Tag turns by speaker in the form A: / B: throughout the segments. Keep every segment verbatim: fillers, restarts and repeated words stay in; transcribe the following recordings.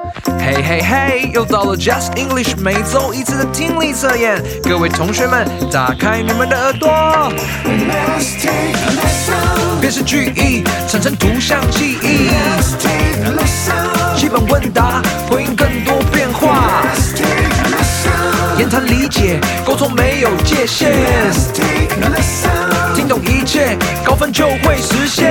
A: 嘿嘿嘿，又到了 Just English 每周一次的听力测验，各位同学们，打开你们的耳朵。辨识句意，产生图像记忆。基本问答，回应更多变化。言谈理解，沟通没有界限。听懂一切，高分就会实现。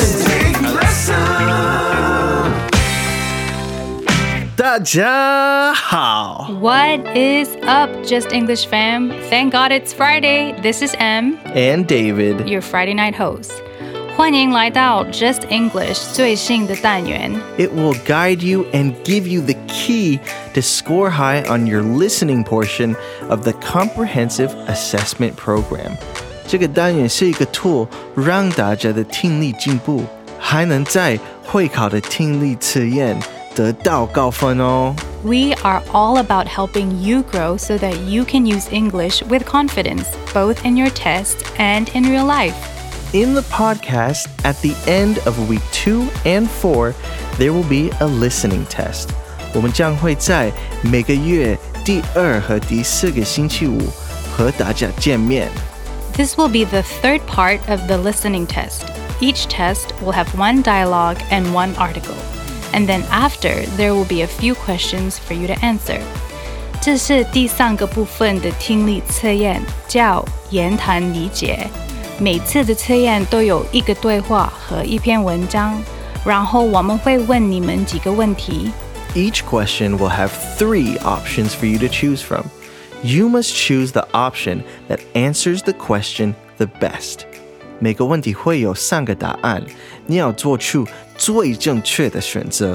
B: 大家好
C: What is up, Just English fam? Thank God it's Friday. This is M,
B: and David,
C: your Friday night host. 欢迎来到 Just English 最新的单元。
B: It will guide you and give you the key to score high on your listening portion of the Comprehensive Assessment Program. 这个单元是一个 tool 让大家的听力进步，还能在会考的听力测验得到高分哦。
C: We are all about helping you grow so that you can use English with confidence, both in your test and in real life.
B: In the podcast, at the end of week two and four, there will be a listening test. 我们将会在每个月第二和第四个星期五和大家见面。
C: This will be the third part of the listening test. Each test will have one dialogue and one article. And then after, there will be a few questions for you to answer. 这是第三个部分的听力测验，叫言谈理解。每次的测验都有一个对话和一篇文章，然后我们会问你们几个问题。
B: Each question will have three options for you to choose from. You must choose the option that answers the question the best. 每个问题会有三个答案，你要做出最正确的选择。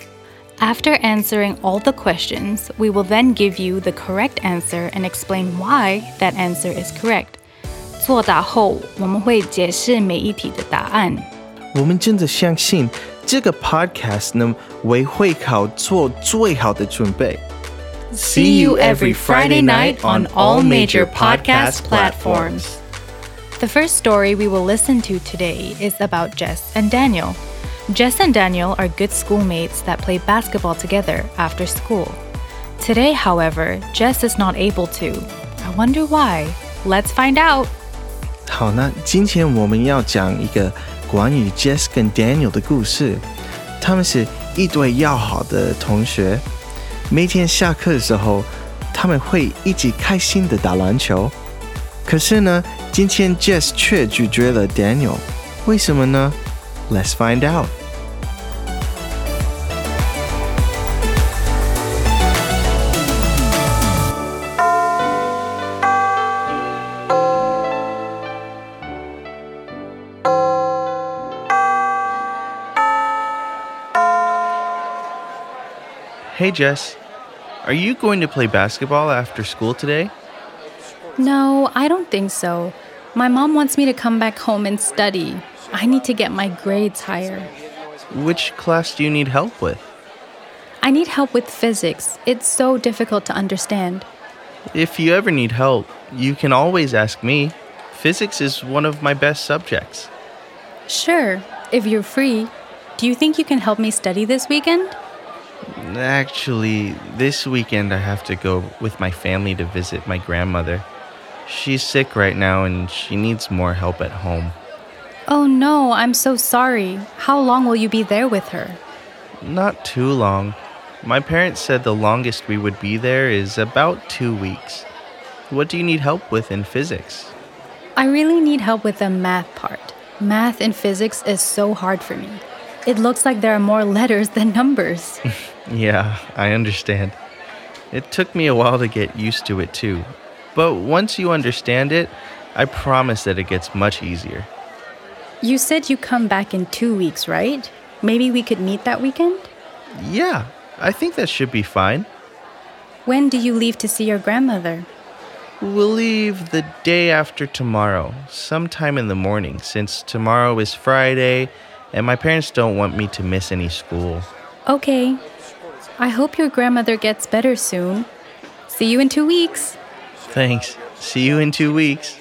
C: After answering all the questions, we will then give you the correct answer and explain why that answer is correct. 作答后，我们会解释每一题的答案。
B: 我们真的相信这个 podcast 能为会考做最好的准备。
C: See you every Friday night on all major podcast platforms. The first story we will listen to today is about Jess and Daniel. Jess and Daniel are good schoolmates that play basketball together after school. Today, however, Jess is not able to. I wonder why. Let's find out.
B: 好，那今天我们要讲一个关于 Jess 跟 Daniel 的故事。他们是一对要好的同学，每天下课的时候，他们会一起开心的打篮球。可是呢，今天 Jess 却拒绝了 Daniel， 为什么呢？ Let's find out. Hey Jess, are you going to play basketball after school today?
C: No, I don't think so. My mom wants me to come back home and study. I need to get my grades higher.
B: Which class do you need help with?
C: I need help with physics. It's so difficult to understand.
B: If you ever need help, you can always ask me. Physics is one of my best subjects.
C: Sure, if you're free. Do you think you can help me study this weekend?
B: Actually, this weekend I have to go with my family to visit my grandmother. She's sick right now and she needs more help at home.
C: Oh no, I'm so sorry. How long will you be there with her?
B: Not too long. My parents said the longest we would be there is about two weeks. What do you need help with in physics?
C: I really need help with the math part. Math in physics is so hard for me. It looks like there are more letters than numbers.
B: Yeah, I understand. It took me a while to get used to it too. But once you understand it, I promise that it gets much easier.
C: You said you come back in two weeks, right? Maybe we could meet that weekend?
B: Yeah, I think that should be fine.
C: When do you leave to see your grandmother?
B: We'll leave the day after tomorrow, sometime in the morning, since tomorrow is Friday and my parents don't want me to miss any school.
C: Okay. I hope your grandmother gets better soon. See you in two weeks.
B: Thanks. See you in two weeks.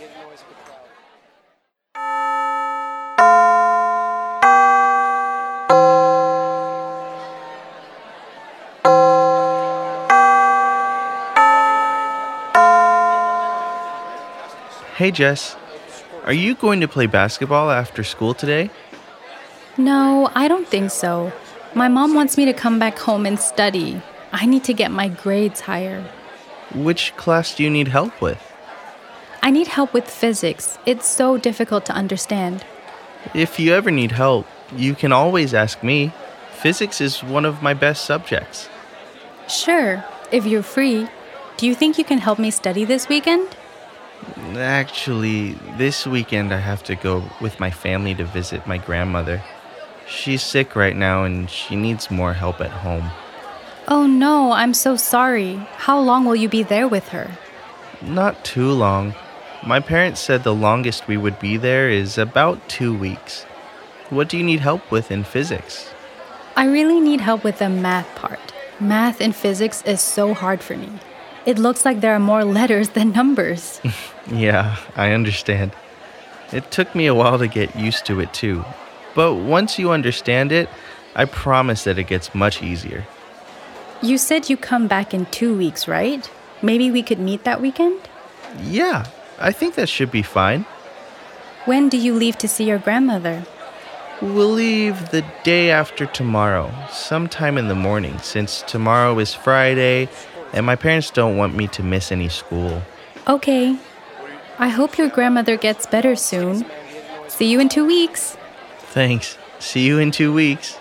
B: Hey, Jess. Are you going to play basketball after school today?
C: No, I don't think so. My mom wants me to come back home and study. I need to get my grades higher.
B: Which class do you need help with?
C: I need help with physics. It's so difficult to understand.
B: If you ever need help, you can always ask me. Physics is one of my best subjects.
C: Sure, if you're free. Do you think you can help me study this weekend?
B: Actually, this weekend I have to go with my family to visit my grandmother. She's sick right now and she needs more help at home.
C: Oh no, I'm so sorry. How long will you be there with her?
B: Not too long. My parents said the longest we would be there is about two weeks. What do you need help with in physics?
C: I really need help with the math part. Math in physics is so hard for me. It looks like there are more letters than numbers.
B: Yeah, I understand. It took me a while to get used to it too. But once you understand it, I promise that it gets much easier.
C: You said you come back in two weeks, right? Maybe we could meet that weekend?
B: Yeah, I think that should be fine.
C: When do you leave to see your grandmother?
B: We'll leave the day after tomorrow, sometime in the morning, since tomorrow is Friday and my parents don't want me to miss any school.
C: Okay. I hope your grandmother gets better soon. See you in two weeks.
B: Thanks. See you in two weeks.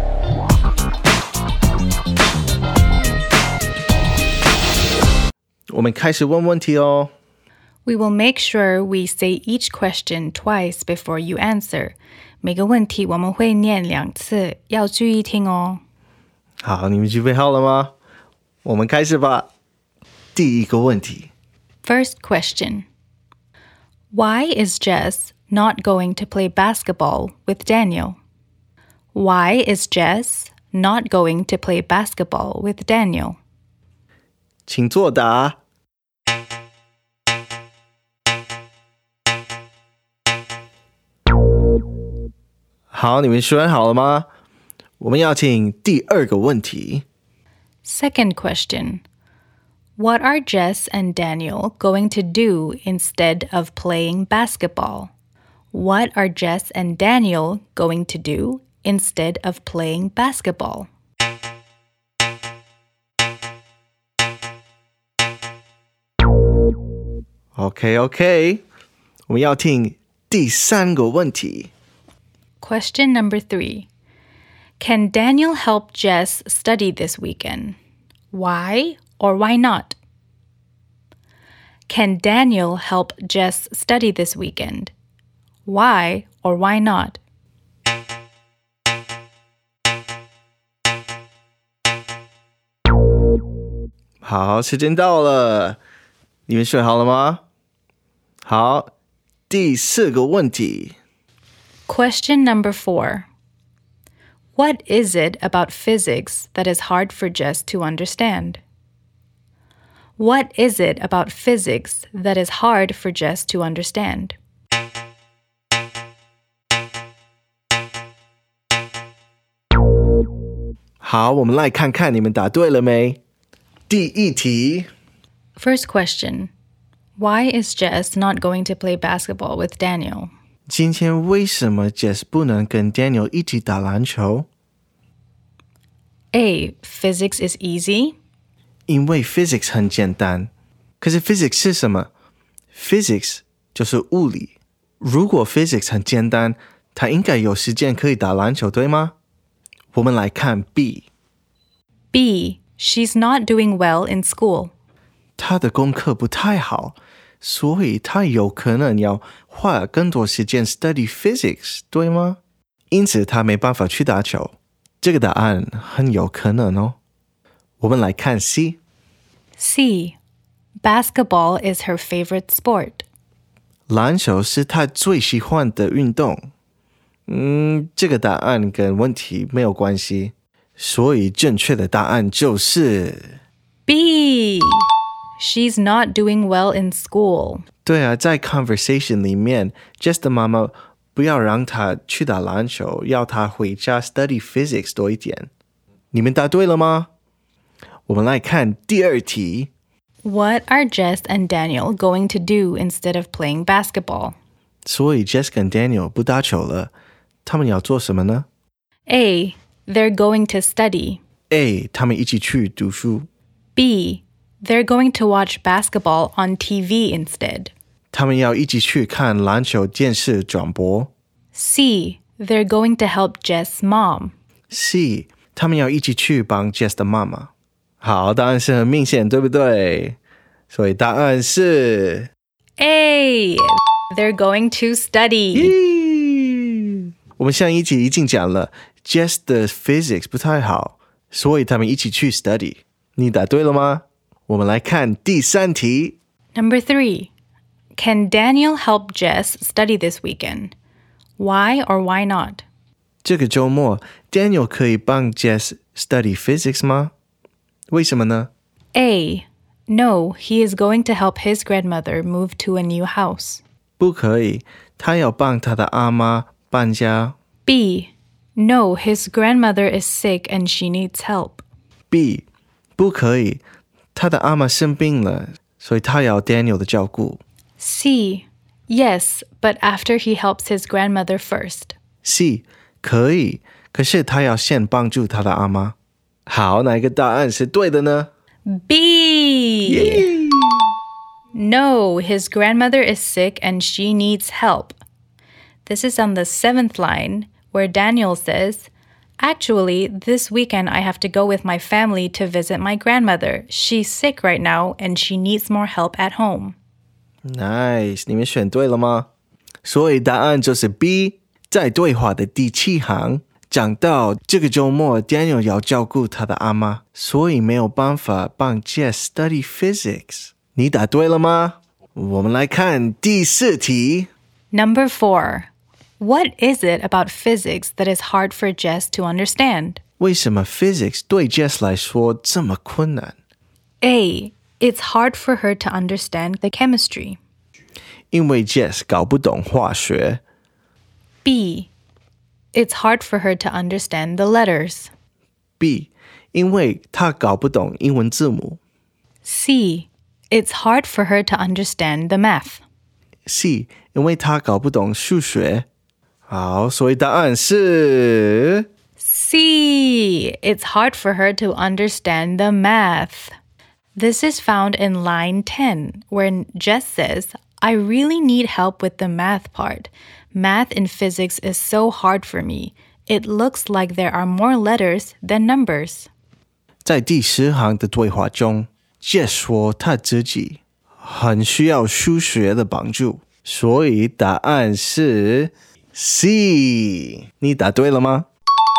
B: 我们开始问问题哦。
C: We will make sure we say each question twice before you answer. 每个问题我们会念两次，要注意听哦。
B: 好，你们准备好了吗？我们开始吧。第一个问题。
C: First question. Why is Jess not going to play basketball with Daniel? Why is Jess not going to play basketball with Daniel?
B: 请作答。好，你们选好了吗？我们要请第二个问题。
C: Second question. What are Jess and Daniel going to do instead of playing basketball? What are Jess and Daniel going to do instead of playing basketball?
B: OK OK， 我们要听第三个问题。
C: Question number three. Can Daniel help Jess study this weekend? Why or why not? Can Daniel help Jess study this weekend? Why or why not?
B: 好，时间到了，你们选好了吗？好，第四个问题。
C: Question number four. What is it about physics that is hard for Jess to understand? What is it about physics that is hard for Jess to understand?
B: 好，我们来看看你们答对了没？第一题。
C: First question. Why is Jess not going to play basketball with Daniel?
B: 今天为什么 Jess 不能跟 Daniel 一起打篮球？
C: A. Physics is easy.
B: 因为 physics 很简单。可是 physics 是什么？ physics 就是物理。如果 physics 很简单，他应该有时间可以打篮球，对吗？我们来看 B。
C: B. She's not doing well in school.
B: 他的功课不太好，所以他有可能要花更多时间 study physics， 对吗？因此他没办法去打球。这个答案很有可能哦。我们来看 C。
C: C. Basketball is her favorite sport.
B: 篮球是他最喜欢的运动。嗯，这个答案跟问题没有关系，所以正确的答案就是
C: B. She's not doing well in school.
B: 对啊，在 conversation 里面 Jess 的妈妈不要让他去打篮球，要他回家 study physics 多一点。你们答对了吗？我们来看第二题。
C: What are Jess and Daniel going to do instead of playing basketball?
B: 所以 Jess 跟 Daniel 不打球了，他们要做什么呢？
C: A. They're going to study.
B: A. 他们一起去读书。
C: B. They're going to watch basketball on T V instead.
B: 他们要一起去看篮球电视转播。
C: C. They're going to help Jess' mom.
B: C. 他们要一起去帮 Jess 的妈妈。好，答案是很明显，对不对？所以答案是
C: A. They're going to study.
B: 我们上一集已经讲了 Jess 的 physics 不太好，所以他们一起去 study。你答对了吗？我们来看第三题。
C: Number three. Can Daniel help Jess study this weekend? Why or why not?
B: 这个周末 Daniel 可以帮 Jess study physics 吗？为什么呢？
C: A. No, he is going to help his grandmother move to a new house.
B: 不可以，他要帮他的阿妈搬家。
C: B. No, his grandmother is sick and she needs help.
B: B. 不可以，他的阿妈生病了，所以他要 Daniel 的照顾。
C: C. Yes, but after he helps his grandmother first.
B: C. 可以，可是他要先帮助他的阿妈。好，哪一个答案是对的呢？
C: B.
B: Yeah.
C: No, his grandmother is sick and she needs help. This is on the seventh line, where Daniel says, Actually, this weekend I have to go with my family to visit my grandmother. She's sick right now and she needs more help at home.
B: Nice, 你们选对了吗？所以答案就是 B。在对话的第七行讲到这个周末 Daniel 要照顾他的阿妈，所以没有办法帮 Jess study physics。你答对了吗？我们来看第四题。
C: Number four. What is it about physics that is hard for Jess to understand?
B: 为什么 physics 对 Jess 来说这么困难？
C: A. It's hard for her to understand the chemistry.
B: 因为 Jess 搞不懂化学。
C: B. It's hard for her to understand the letters.
B: B. 因为她搞不懂英文字母。
C: C. It's hard for her to understand the math.
B: C. 因为她搞不懂数学。好，所以答案是
C: C. It's hard for her to understand the math. This is found in line ten, where Jess says, I really need help with the math part. Math in physics is so hard for me. It looks like there are more letters than numbers.
B: 在第十行的对话中 Jess 说她自己很需要数学的帮助，所以答案是 C。 你答对了吗？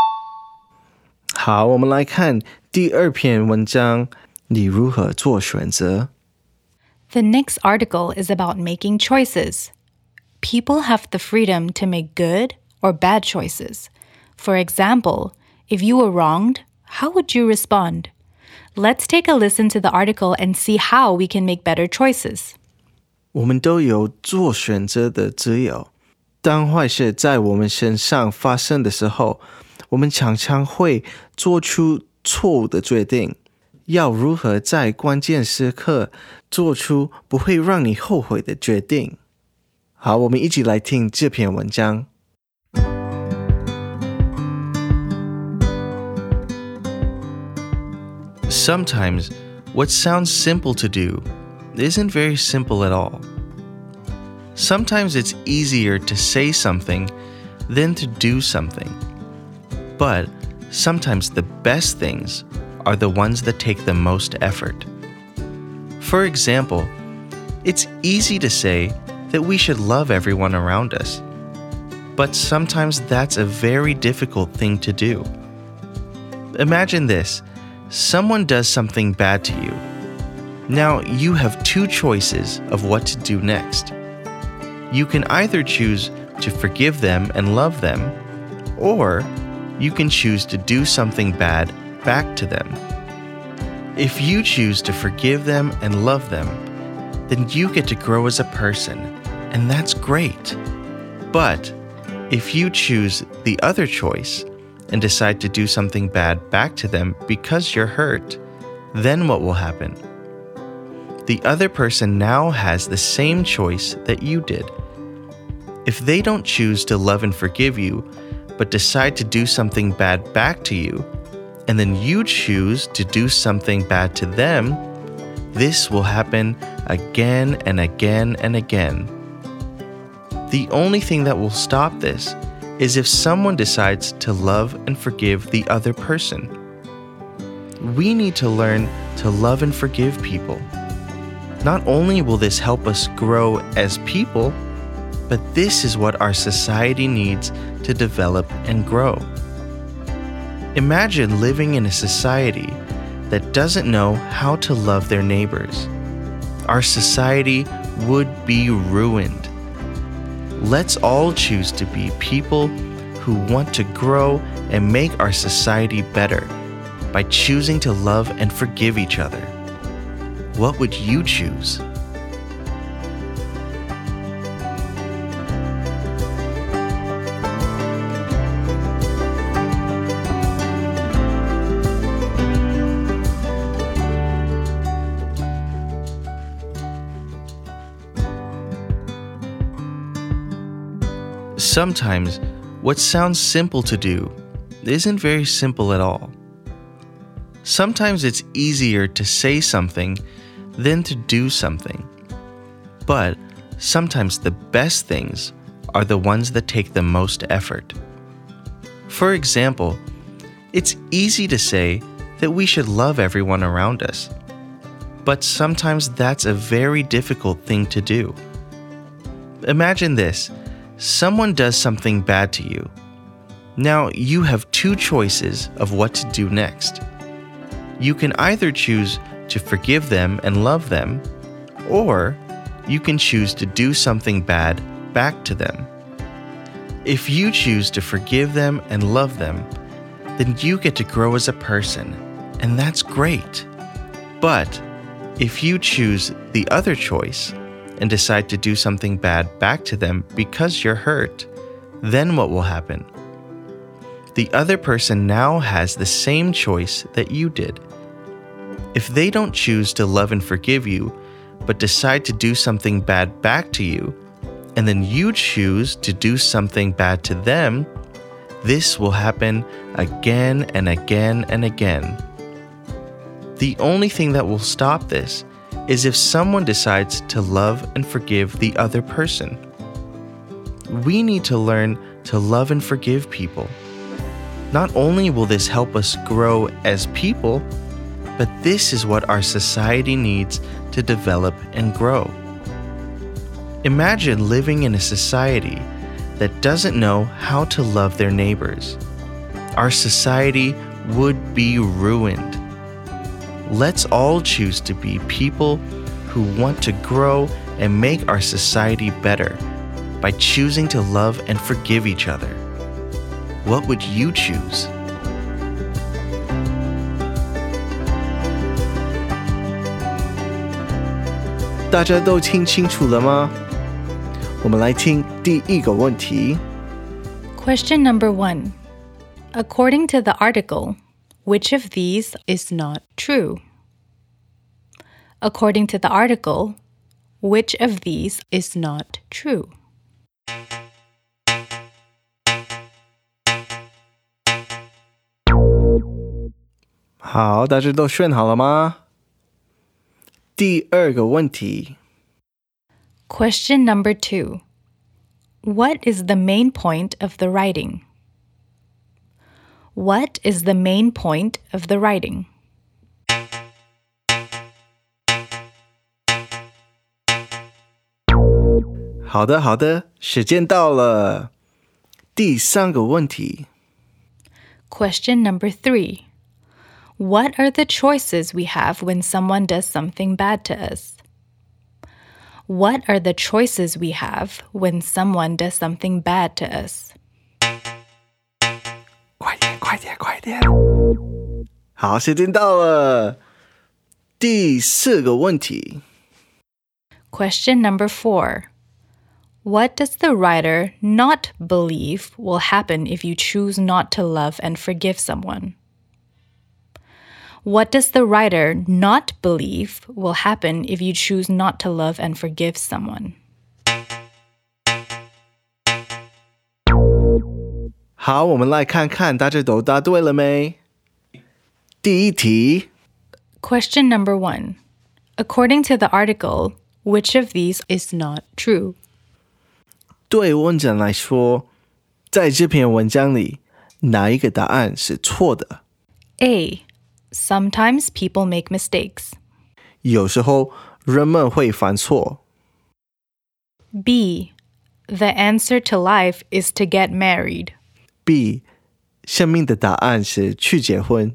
B: 好，我们来看第二篇文章，你如何做选择。
C: The next article is about making choices. People have the freedom to make good or bad choices. For example, if you were wronged, how would you respond? Let's take a listen to the article and see how we can make better choices.
B: 我们都有做选择的自由。当坏事在我们身上发生的时候，我们常常会做出错误的决定。要如何在关键时刻做出不会让你后悔的决定？好，我们一起来听这篇文章。Sometimes, what sounds simple to do isn't very simple at all. Sometimes it's easier to say something than to do something. But sometimes the best things are the ones that take the most effort. For example, it's easy to say that we should love everyone around us. But sometimes that's a very difficult thing to do. Imagine this. Someone does something bad to you. Now you have two choices of what to do next. You can either choose to forgive them and love them, or you can choose to do something bad back to them. If you choose to forgive them and love them, then you get to grow as a person, and that's great. But if you choose the other choice and decide to do something bad back to them because you're hurt, then what will happen? the other person now has the same choice that you did. If they don't choose to love and forgive you, but decide to do something bad back to you, and then you choose to do something bad to them, this will happen again and again and again. The only thing that will stop this is if someone decides to love and forgive the other person. We need to learn to love and forgive people. Not only will this help us grow as people, but this is what our society needs to develop and grow. Imagine living in a society that doesn't know how to love their neighbors. Our society would be ruined. Let's all choose to be people who want to grow and make our society better by choosing to love and forgive each other. What would you choose? Sometimes, what sounds simple to do isn't very simple at all. Sometimes it's easier to say something than to do something. But sometimes the best things are the ones that take the most effort. For example, it's easy to say that we should love everyone around us. But sometimes that's a very difficult thing to do. Imagine this. Someone does something bad to you. Now you have two choices of what to do next. You can either choose to forgive them and love them, or you can choose to do something bad back to them. If you choose to forgive them and love them, then you get to grow as a person, and that's great. But if you choose the other choice, and decide to do something bad back to them because you're hurt, then what will happen? The other person now has the same choice that you did. If they don't choose to love and forgive you, but decide to do something bad back to you, and then you choose to do something bad to them, this will happen again and again and again. The only thing that will stop this is if someone decides to love and forgive the other person. We need to learn to love and forgive people. Not only will this help us grow as people, but this is what our society needs to develop and grow. Imagine living in a society that doesn't know how to love their neighbors. Our society would be ruined. Let's all choose to be people who want to grow and make our society better by choosing to love and forgive each other. What would you choose?
A: Question 大家都听清楚了吗？我们来听第一个问题。
C: Question number one. According to the article, which of these is not true? According to the article, which of these is not true?
A: 好，大家都选好了吗？第二个问题。
C: Question number two. What is the main point of the writing? What is the main point of the writing?
A: 好的，好的，时间到了。第三个问题。
C: Question number three. What are the choices we have when someone does something bad to us? What are the choices we have when someone does something bad to us?
A: 快点，快点，快点！好，时间到了。第四个问题。
C: Question number four. What does the writer not believe will happen if you choose not to love and forgive someone? What does the writer not believe will happen if you choose not to love and forgive someone?
B: 好，我们来看看大家都答对了没？第一题
C: Question number one. According to the article, which of these is not true?
B: 对文章来说，在这篇文章里，哪一个答案是错的？
C: A. Sometimes people make mistakes.
B: 有时候人们会犯错。
C: B. The answer to life is to get married.
B: B. 生命的答案是去结婚。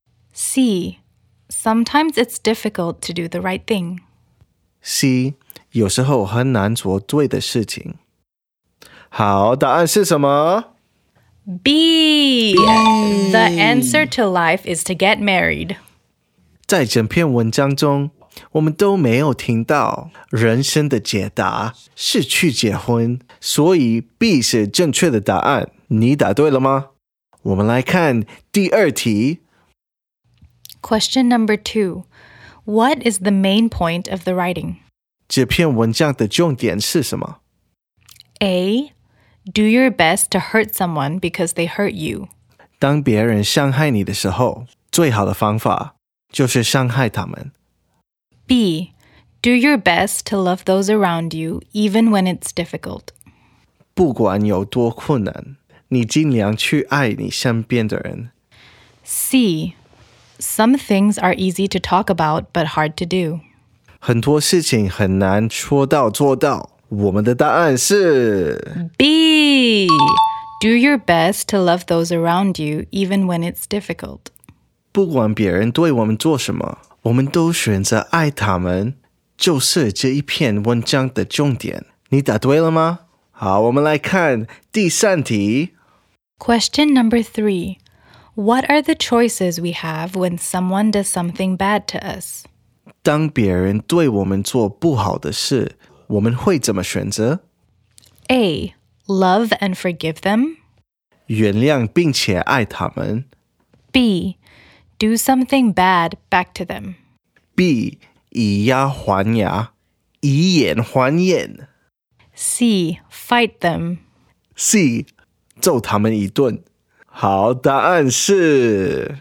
C: C. Sometimes it's difficult to do the right thing.
B: C. 有时候很难做对的事情。好，答案是什么？
C: B. The answer to life is to get married.
B: 在整篇文章中，我们都没有听到人生的解答是去结婚，所以 B 是正确的答案。你答对了吗？我们来看第二题。
C: Question number two. What is the main point of the writing?
B: 这篇文章的重点是什么？
C: A. Do your best to hurt someone because they hurt you.
B: 当别人伤害你的时候，最好的方法就是伤害他们。
C: B. Do your best to love those around you even when it's difficult.
B: 不管有多困难，你尽量去爱你身边的人。
C: C. Some things are easy to talk about but hard to do.
B: 很多事情很难说到做到。我们的答案是
C: B. Do your best to love those around you even when it's difficult.
B: 不管别人对我们做什么，我们都选择爱他们，就是这一篇文章的重点。你答对了吗？好，我们来看第三题。
C: Question number three. What are the choices we have when someone does something bad to us?
B: 当别人对我们做不好的事，我们会怎么选择？
C: A. Love and forgive them.
B: 原谅并且爱他们。
C: B. Do something bad back to them.
B: B. 以牙还牙，以眼还眼。
C: C. Fight them.
B: C. 揍他们一顿。好，答案是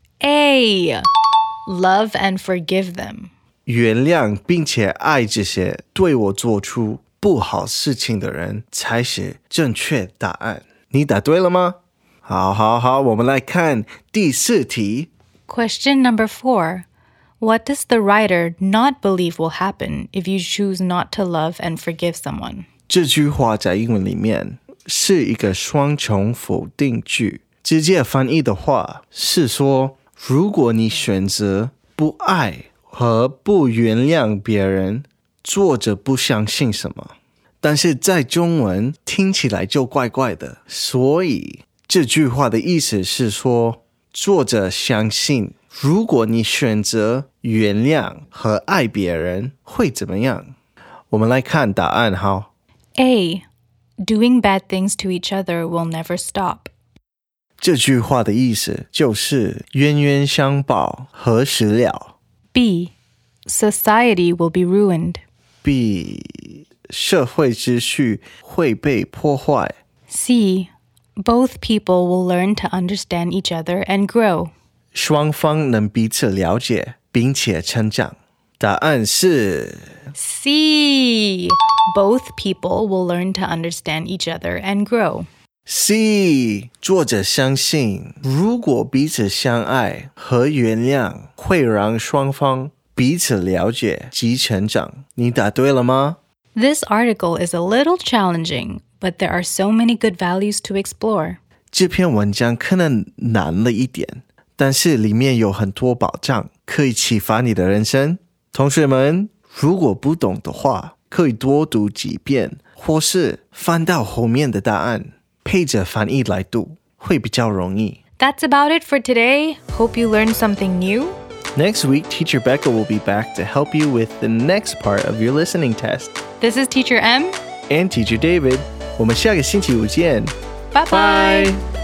C: A. Love and forgive them.
B: 原谅并且爱这些对我做出不好事情的人才是正确答案。你答对了吗？好好好，我们来看第四题。
C: Question number four. What does the writer not believe will happen if you choose not to love and forgive someone?
B: 这句话在英文里面是一个双重否定句，直接翻译的话是说，如果你选择不爱和不原谅别人，作者不相信什么，但是在中文听起来就怪怪的，所以这句话的意思是说，作者相信如果你选择原谅和爱别人会怎么样。我们来看答案好。
C: A. Doing bad things to each other will never stop.
B: 这句话的意思就是冤冤相报何时了。
C: B. Society will be ruined.
B: B. 社会秩序会被破坏。
C: C. Both people will learn to understand each other and grow.
B: 双方能彼此了解并且成长。答案是
C: C. Both people will learn to understand each other and grow.
B: C. 作者相信如果彼此相爱和原谅会让双方彼此了解及成长。你答对了吗？
C: This article is a little challenging, but there are so many good values to explore.
B: 这篇文章可能难了一点，但是里面有很多宝藏可以启发你的人生。同学们，如果不懂的话，可以多读几遍，或是翻到后面的答案，配着翻译来读，会比较容易。
C: That's about it for today. Hope you learned something new.
B: Next week, Teacher Becca will be back to help you with the next part of your listening test.
C: This is Teacher M.
B: And Teacher David. 我们下个星期五见。
C: Bye-bye.
B: Bye.